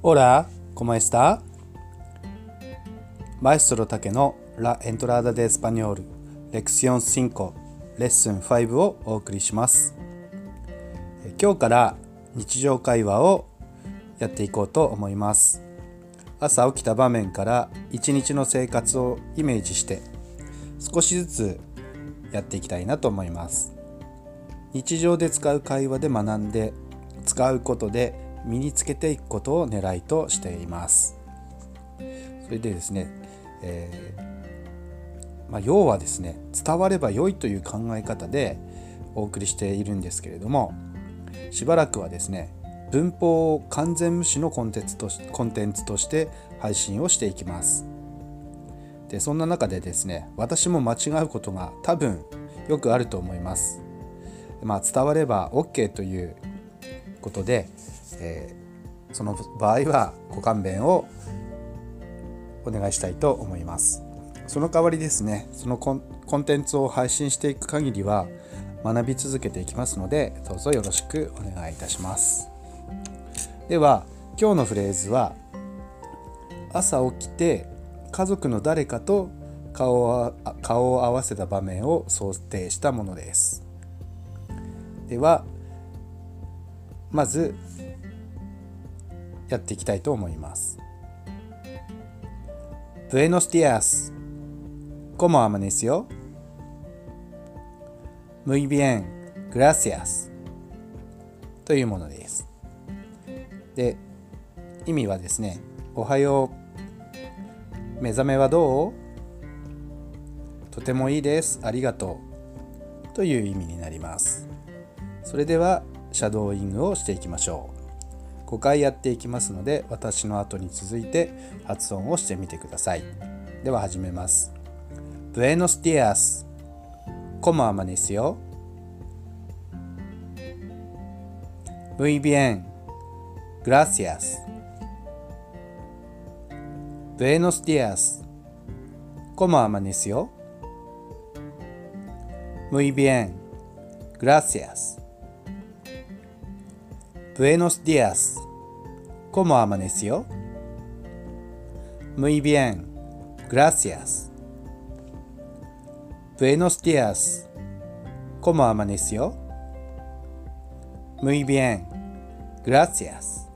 Hola, ¿cómo está? Maestro Takeの La Entrada de Español レクション5レッスン5をお送りします。今日から日常会話をやっていこうと思います。朝起きた場面から一日の生活をイメージして少しずつやっていきたいなと思います。日常で使う会話で学んで使うことで身につけていくことを狙いとしています。それでですね、要はですね、伝われば良いという考え方でお送りしているんですけれども、しばらくはですね、文法を完全無視のコンテンツとして配信をしていきます。で、そんな中でですね、私も間違うことが多分よくあると思います。伝われば OK ということで、その場合はご勘弁をお願いしたいと思います。その代わりですね、そのコンテンツを配信していく限りは学び続けていきますので、どうぞよろしくお願いいたします。では今日のフレーズは、朝起きて家族の誰かと顔を合わせた場面を想定したものです。ではまずやっていきたいと思います。Buenos días. ¿Cómo amaneció? Muy bien, gracias. というものです。で、意味はですね、おはよう。目覚めはどう？とてもいいです。ありがとう。という意味になります。それではシャドーイングをしていきましょう。5回やっていきますので、私の後に続いて発音をしてみてください。では始めます。Buenos días. ¿Cómo amaneció? Muy bien. Gracias. Buenos días. ¿Cómo amaneció? Muy bien. Gracias. Buenos días. ¿Cómo amaneció? Muy bien. Gracias. Buenos días. ¿Cómo amaneció? Muy bien. Gracias.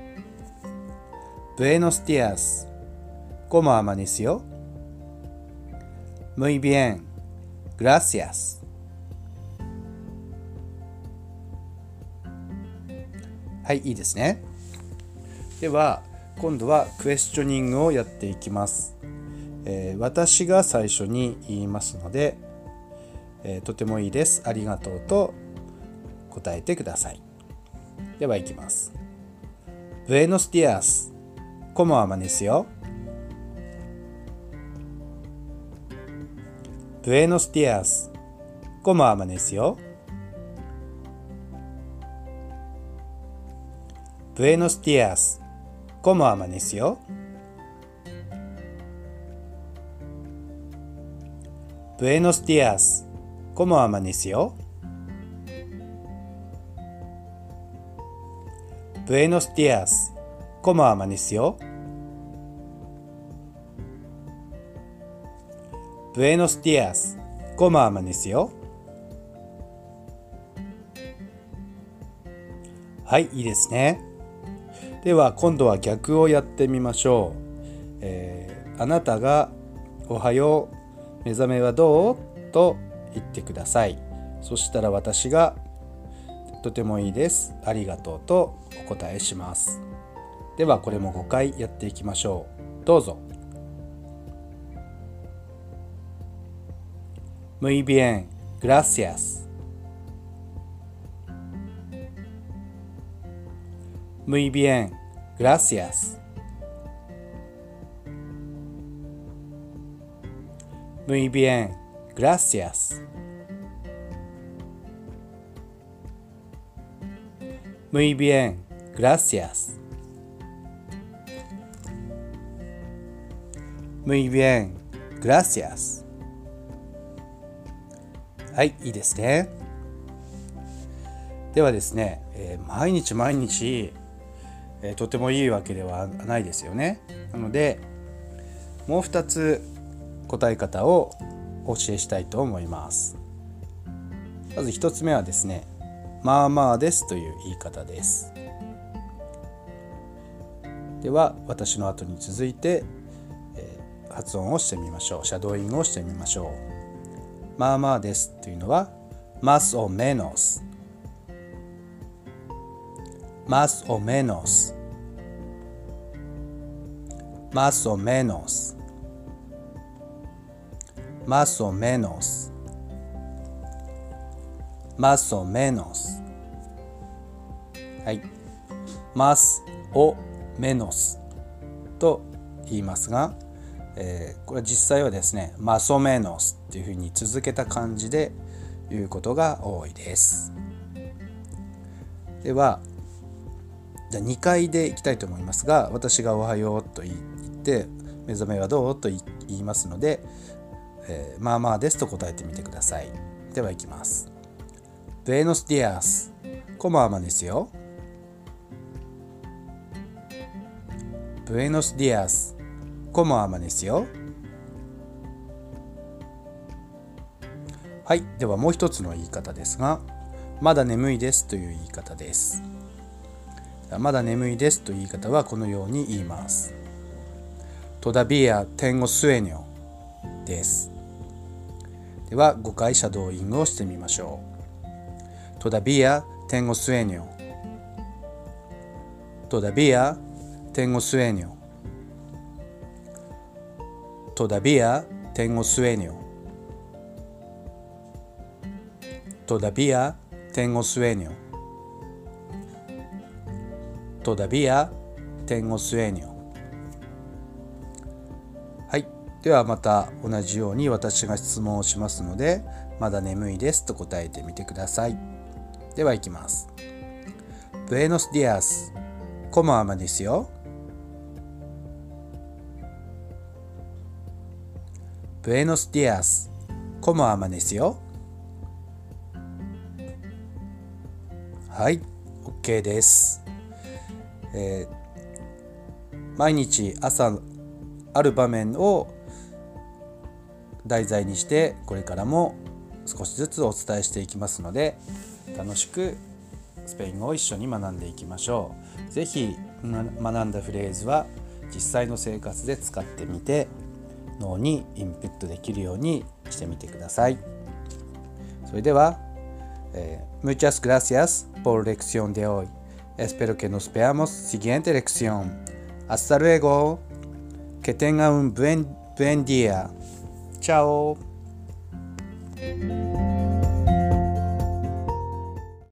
Buenos días. ¿Cómo amaneció? Muy bien. Gracias.はい、いいですね。では今度はクエスチョニングをやっていきます。私が最初に言いますので、とてもいいです。ありがとうと答えてください。ではいきます。Buenos días. ¿Cómo amaneció? Buenos días. ¿Cómo amaneció?Buenos días. ¿Cómo amaneció? Buenos días. ¿Cómo amaneció? Buenos días. ¿Cómo amaneció? Buenos días. ¿Cómo amaneció? はい、いいですね。では今度は逆をやってみましょう。あなたがおはよう、目覚めはどう？と言ってください。そしたら私がとてもいいです。ありがとうとお答えします。ではこれも5回やっていきましょう。どうぞ。Muy bien, gracias.Muy bien, gracias. Muy bien, gracias. Muy bien, gracias. Muy bien, gracias. はい、いいですね。ではですね、毎日とてもいいわけではないですよね。なのでもう2つ答え方をお教えしたいと思います。まず1つ目はですね、まあまあですという言い方です。では私の後に続いて、発音をしてみましょう。シャドーイングをしてみましょう。まあまあですというのはmás o menos más o menos más o menos más o menos más o menos はい、más o menos と言いますが、これは実際はですね、más o menos っていうふうに続けた感じで言うことが多いです。ではじゃあ2回でいきたいと思いますが、私がおはようと言って目覚めはどうと言いますので、まあまあですと答えてみてください。ではいきます。Buenos días, ¿cómo amaneció? Buenos días, ¿cómo amaneció? はい、ではもう一つの言い方ですが、まだ眠いですという言い方です。まだ眠いですという言い方はこのように言います。Todavía tengo sueño です。では5回シャドーイングをしてみましょう。Todavía tengo sueño Todavía tengo sueño Todavía tengo sueño Todavía tengo sueño Todavía tengo sueño。 はい、ではまた同じように私が質問をしますので、まだ眠いですと答えてみてください。ではいきます。 Buenos días, ¿cómo amaneció? Buenos días, ¿cómo amaneció? はい、OK です。毎日朝ある場面を題材にしてこれからも少しずつお伝えしていきますので、楽しくスペイン語を一緒に学んでいきましょう。ぜひ学んだフレーズは実際の生活で使ってみて脳にインプットできるようにしてみてください。それでは、Muchas gracias por la lección de hoy.Espero que nos veamos siguiente lección. Hasta luego. Que tenga un buen día. Chao.